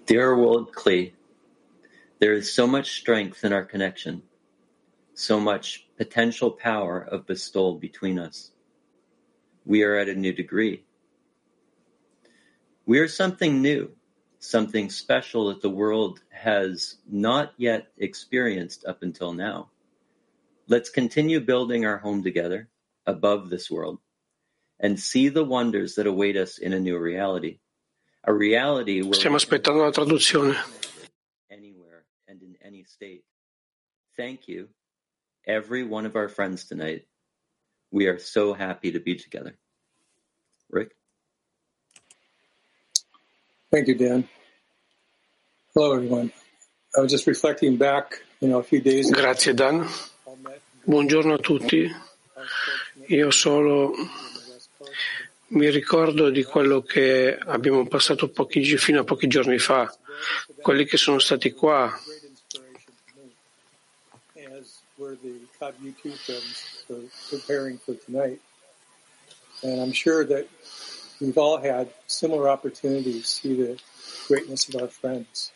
Dear World Klee, there is so much strength in our connection, so much potential power of bestowal between us. We are at a new degree. We are something new, something special that the world has not yet experienced up until now. Let's continue building our home together, above this world, and see the wonders that await us in a new reality. A reality where Stiamo aspettando la traduzione. Anywhere and in any state. Thank you, every one of our friends tonight. We are so happy to be together. Rick? Thank you, Dan. Hello, everyone. I was just reflecting back, a few days ago. Grazie, Dan. Buongiorno a tutti. Io solo mi ricordo di quello che abbiamo passato fino a pochi giorni fa, quelli che sono stati qua. And I'm sure that we've all had similar opportunities to see the greatness of our friends.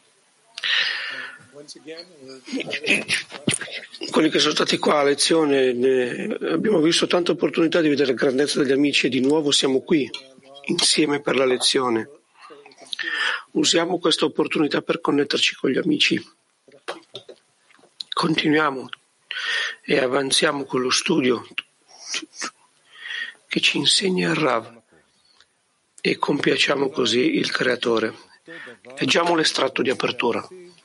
Quelli che sono stati qua a lezione, abbiamo visto tante opportunità di vedere la grandezza degli amici e di nuovo siamo qui, insieme per la lezione. Usiamo questa opportunità per connetterci con gli amici. Continuiamo e avanziamo con lo studio che ci insegna il Rav e compiacciamo così il Creatore. Leggiamo l'estratto di apertura.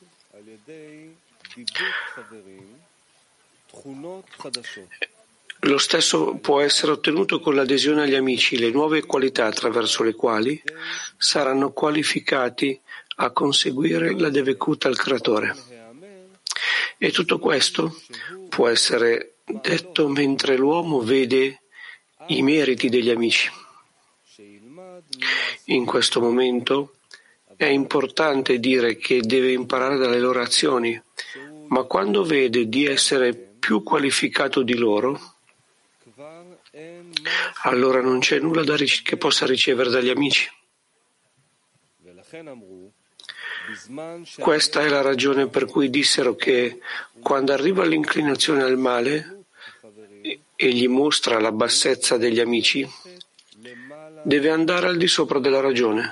Lo stesso può essere ottenuto con l'adesione agli amici, le nuove qualità attraverso le quali saranno qualificati a conseguire la Devekut al Creatore. E tutto questo può essere detto mentre l'uomo vede i meriti degli amici. In questo momento è importante dire che deve imparare dalle loro azioni, ma quando vede di essere più qualificato di loro, allora non c'è nulla che possa ricevere dagli amici. Questa è la ragione per cui dissero che quando arriva l'inclinazione al male e gli mostra la bassezza degli amici, deve andare al di sopra della ragione.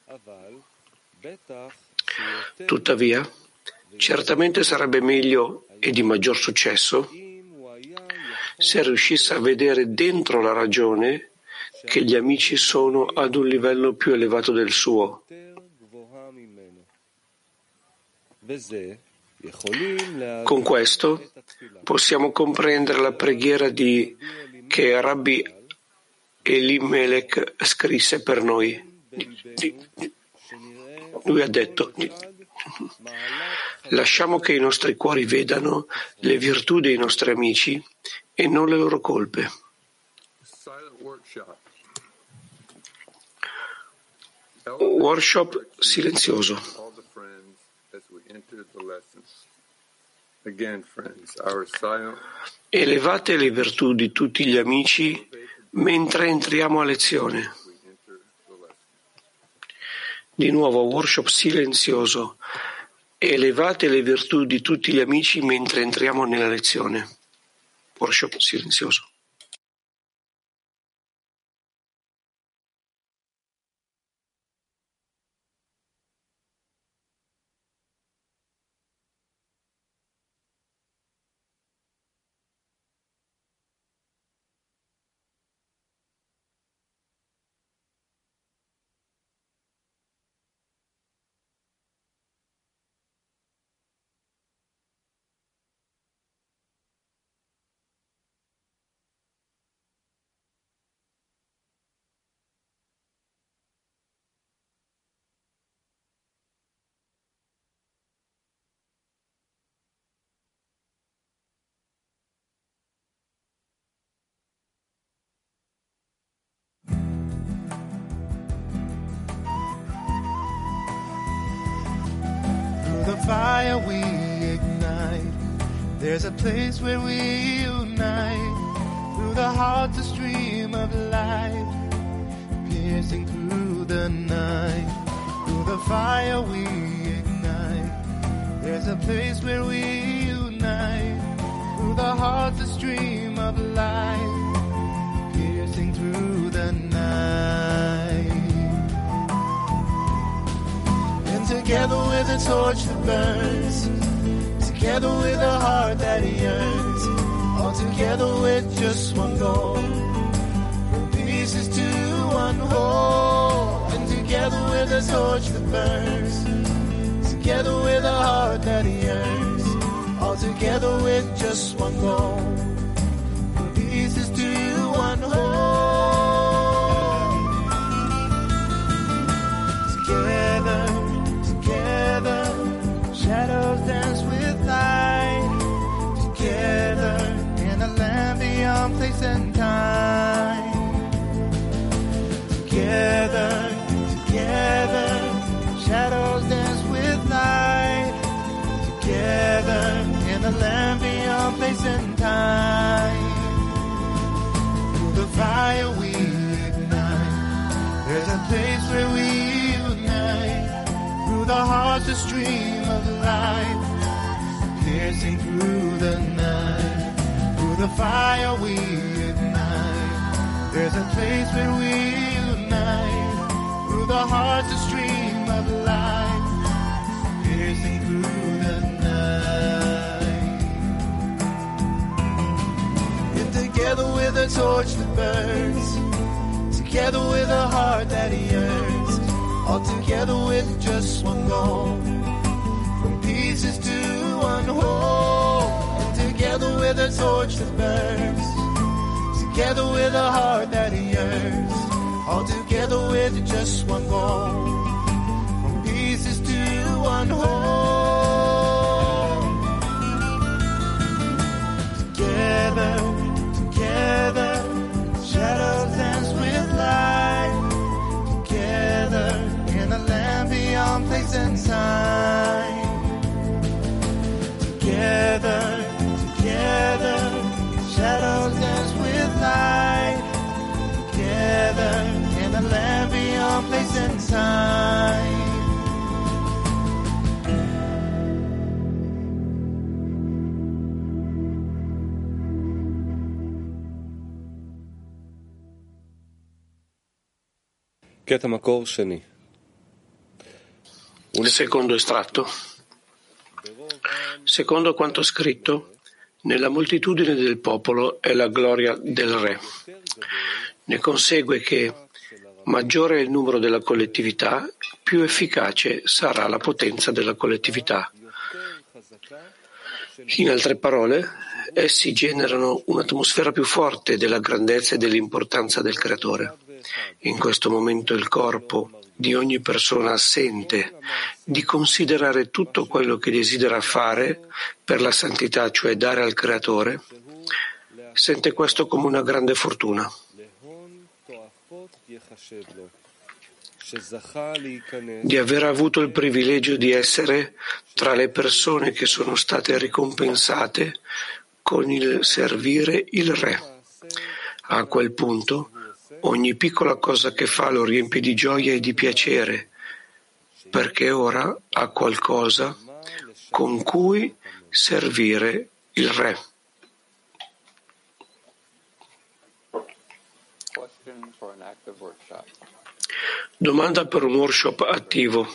Tuttavia, certamente sarebbe meglio e di maggior successo se riuscisse a vedere dentro la ragione che gli amici sono ad un livello più elevato del suo. Con questo possiamo comprendere la preghiera che Rabbi Elimelech scrisse per noi. Lui ha detto: lasciamo che i nostri cuori vedano le virtù dei nostri amici e non le loro colpe. Workshop silenzioso. Elevate le virtù di tutti gli amici mentre entriamo a lezione. Di nuovo, workshop silenzioso. Elevate le virtù di tutti gli amici mentre entriamo nella lezione. Workshop silenzioso. The fire we ignite, there's a place where we unite. Through the heart, a stream of light, piercing through the night. Through the fire we ignite. There's a place where we unite. Through the heart's a stream of light, piercing through the night. And together with a torch that burns, together with a heart that yearns, all together with just one goal, from pieces to one whole. And together with a torch that burns, together with a heart that yearns, all together with just one goal, from pieces to one whole. Together, together, shadows dance with light. Together in a land beyond place and time. Together, together, shadows dance with light. Together in a land beyond place and time. Through the fire we ignite. There's a place where we unite. Through the heart's a stream of light, piercing through the night. Through the fire we ignite. There's a place where we unite. Through the heart's a stream of light, piercing through the night. And together with a torch that burns, together with a heart that yearns, all together with just one goal, from pieces to one whole. And together with a torch that burns, together with a heart that yearns, all together with just one goal, from pieces to one whole. Together, together, shadows dance with light. Together in a land beyond place and time. Together, together, shadows dance with light. Together in a land beyond place and time. Secondo estratto. Secondo quanto scritto, nella moltitudine del popolo è la gloria del Re. Ne consegue che maggiore è il numero della collettività, più efficace sarà la potenza della collettività. In altre parole, essi generano un'atmosfera più forte della grandezza e dell'importanza del Creatore. In questo momento il corpo di ogni persona sente di considerare tutto quello che desidera fare per la santità, cioè dare al Creatore, sente questo come una grande fortuna. Di aver avuto il privilegio di essere tra le persone che sono state ricompensate con il servire il Re. A quel punto ogni piccola cosa che fa lo riempie di gioia e di piacere, perché ora ha qualcosa con cui servire il Re. Domanda per un workshop attivo.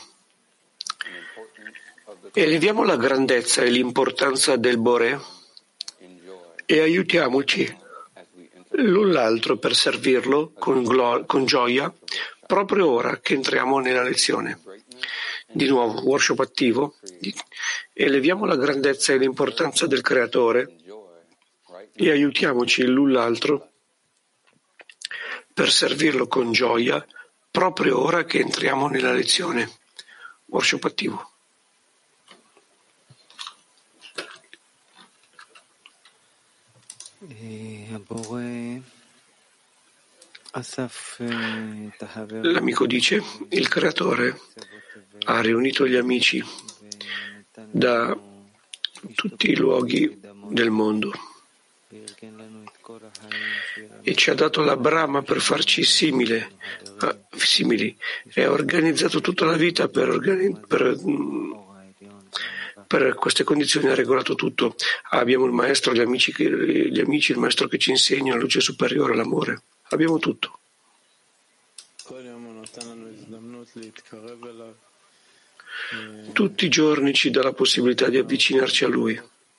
Eleviamo la grandezza e l'importanza del Boré e aiutiamoci l'un l'altro per servirlo con gioia proprio ora che entriamo nella lezione. Di nuovo, workshop attivo. Eleviamo la grandezza e l'importanza del Creatore e aiutiamoci l'un l'altro per servirlo con gioia proprio ora che entriamo nella lezione. Workshop attivo. L'amico dice: il Creatore ha riunito gli amici da tutti i luoghi del mondo e ci ha dato la Brahma per farci simili e ha organizzato tutta la vita per queste condizioni, ha regolato tutto. Abbiamo il maestro, gli amici, il maestro che ci insegna la luce superiore, l'amore. Abbiamo tutto. Tutti i giorni ci dà la possibilità di avvicinarci a Lui.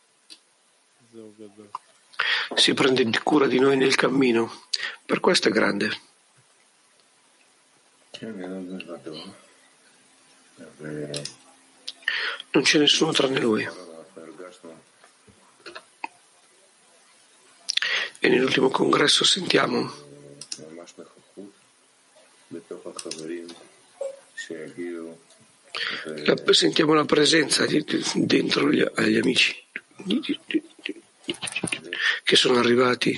Si prende cura di noi nel cammino. Per questo è grande. Non c'è nessuno tranne Lui. E nell'ultimo congresso sentiamo la presenza dentro agli amici che sono arrivati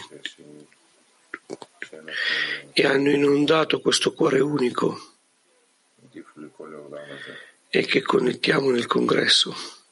e hanno inondato questo cuore unico e che connettiamo nel congresso.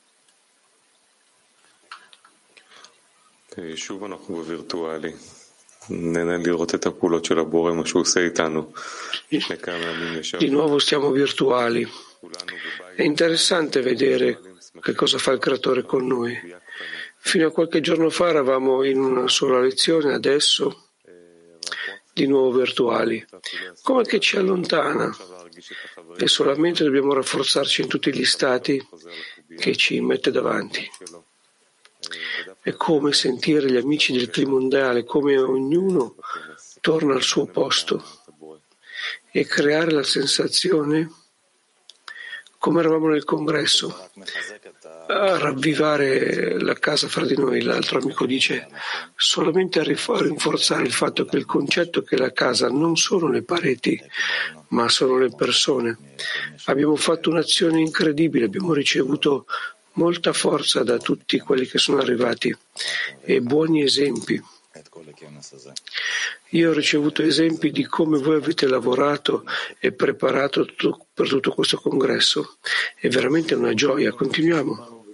Di nuovo stiamo virtuali. È interessante vedere che cosa fa il Creatore con noi. Fino a qualche giorno fa eravamo in una sola lezione, adesso di nuovo virtuali. Come che ci allontana e solamente dobbiamo rafforzarci in tutti gli stati che ci mette davanti. È come sentire gli amici del Trimondiale, come ognuno torna al suo posto e creare la sensazione come eravamo nel congresso, a ravvivare la casa fra di noi. L'altro amico dice solamente a rinforzare il fatto che il concetto che la casa non sono le pareti, ma sono le persone. Abbiamo fatto un'azione incredibile, abbiamo ricevuto molta forza da tutti quelli che sono arrivati e buoni esempi. Io ho ricevuto esempi di come voi avete lavorato e preparato per tutto questo congresso. È veramente una gioia. Continuiamo.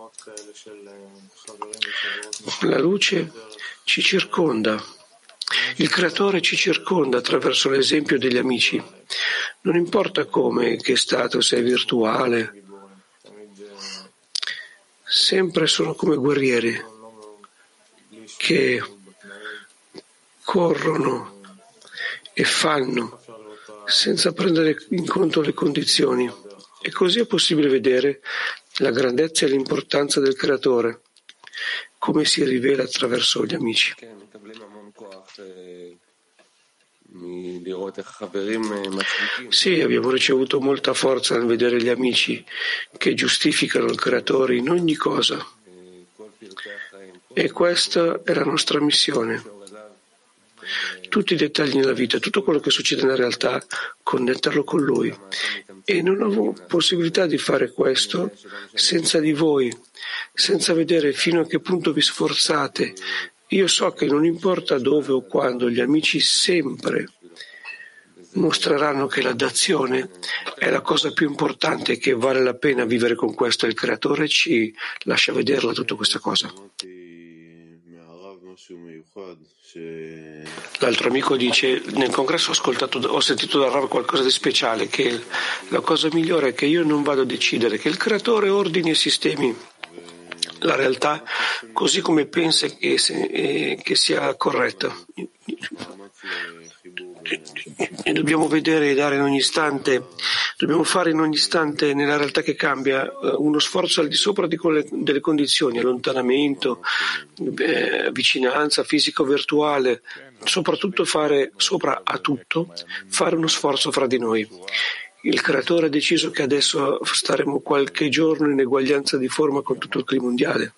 La luce ci circonda. Il Creatore ci circonda attraverso l'esempio degli amici. Non importa come, che stato, se è virtuale. Sempre sono come guerrieri che corrono e fanno senza prendere in conto le condizioni. E così è possibile vedere la grandezza e l'importanza del Creatore, come si rivela attraverso gli amici. Sì, abbiamo ricevuto molta forza nel vedere gli amici che giustificano il Creatore in ogni cosa. E questa è la nostra missione. Tutti i dettagli nella vita, tutto quello che succede nella realtà, connetterlo con Lui. E non ho possibilità di fare questo senza di voi, senza vedere fino a che punto vi sforzate. Io so che non importa dove o quando, gli amici sempre mostreranno che la dazione è la cosa più importante e che vale la pena vivere con questo. Il Creatore ci lascia vederla tutta questa cosa. L'altro amico dice: nel congresso ho sentito da Rav qualcosa di speciale, che la cosa migliore è che io non vado a decidere, che il Creatore ordini e sistemi la realtà così come pensa che sia corretta. E dobbiamo vedere e dare in ogni istante, dobbiamo fare in ogni istante nella realtà che cambia uno sforzo al di sopra delle condizioni, allontanamento, vicinanza fisico-virtuale, soprattutto fare sopra a tutto, fare uno sforzo fra di noi. Il Creatore ha deciso che adesso staremo qualche giorno in eguaglianza di forma con tutto il clima mondiale.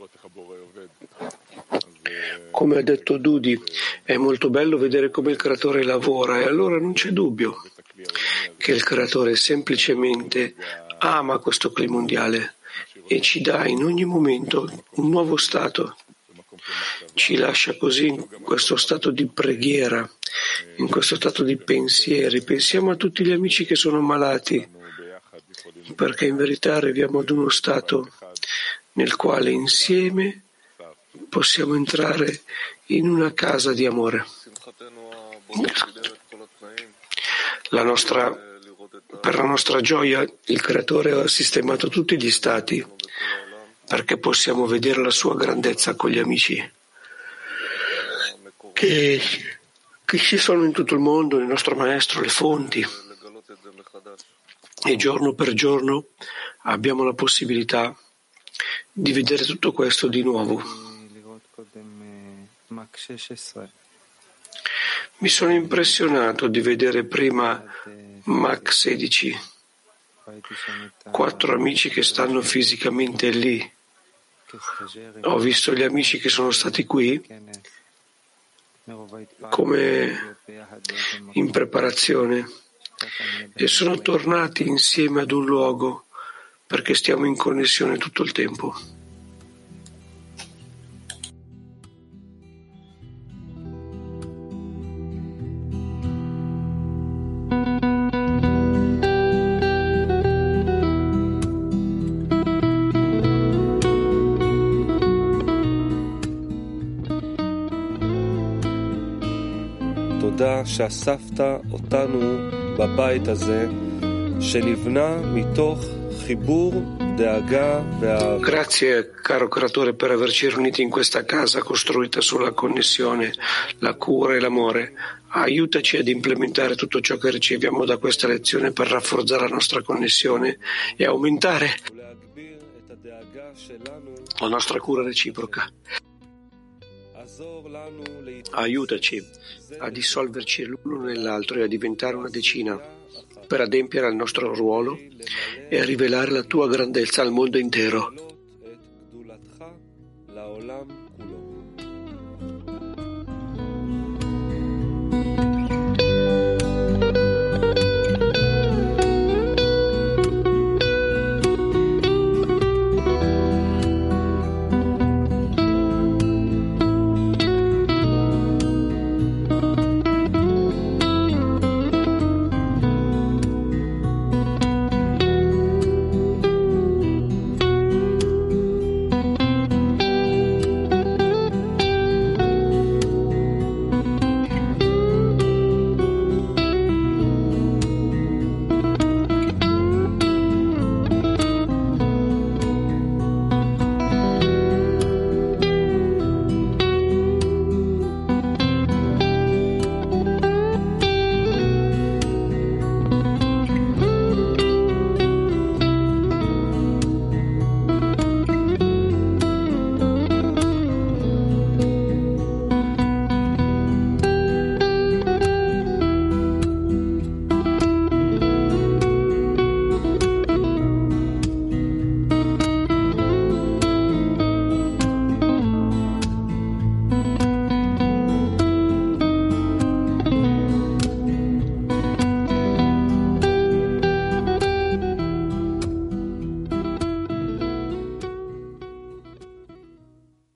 Come ha detto Dudi, è molto bello vedere come il Creatore lavora, e allora non c'è dubbio che il Creatore semplicemente ama questo clima mondiale e ci dà in ogni momento un nuovo stato. Ci lascia così in questo stato di preghiera, in questo stato di pensieri. Pensiamo a tutti gli amici che sono malati, perché in verità arriviamo ad uno stato nel quale insieme possiamo entrare in una casa di amore. Per la nostra gioia, il Creatore ha sistemato tutti gli stati perché possiamo vedere la sua grandezza con gli amici che ci sono in tutto il mondo, il nostro Maestro, le fonti. E giorno per giorno abbiamo la possibilità di vedere tutto questo di nuovo. Mi sono impressionato di vedere prima Mach 16, 4 amici che stanno fisicamente lì. Ho visto gli amici che sono stati qui come in preparazione e sono tornati insieme ad un luogo perché stiamo in connessione tutto il tempo. תודה שאספת אותנו בבית הזה שנבנה מתוך חיבור, דאגה ואהבה. Grazie, caro Creatore, per averci riuniti in questa casa costruita sulla connessione, la cura e l'amore. Aiutaci ad implementare tutto ciò che riceviamo da questa lezione per rafforzare la nostra connessione e aumentare la nostra cura reciproca. Aiutaci a dissolverci l'uno nell'altro e a diventare una decina per adempiere al nostro ruolo e a rivelare la tua grandezza al mondo intero.